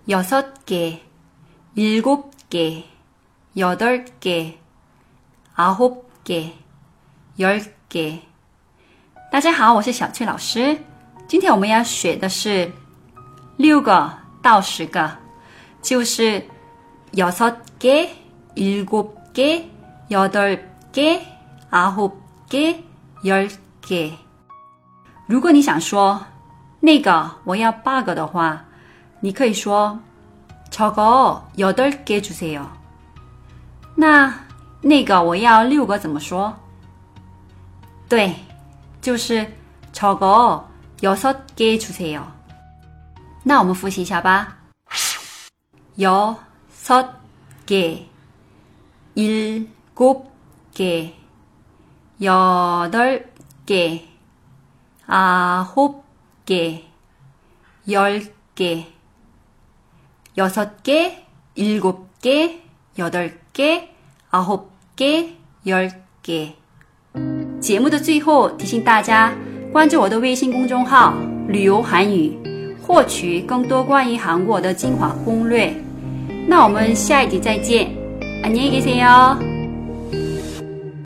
6개, 7개, 8개, 9개, 10개。大家好，我是小翠老师。今天我们要学的是6个到10个，就是6개, 7개, 8개, 9개, 10개。如果你想说那个我要8个的话，你可以说저거 8개 주세요。那个我要6个怎么说？对，就是저거 6개 주세요。那我们复习一下吧。6개, 7개, 8개, 9개, 10개, 6개, 7개, 8개, 9개, 10개。节目的最后提醒大家关注我的微信公众号旅游韩语，获取更多关于韩国的精华攻略。那我们下一集再见，안녕히 계세요。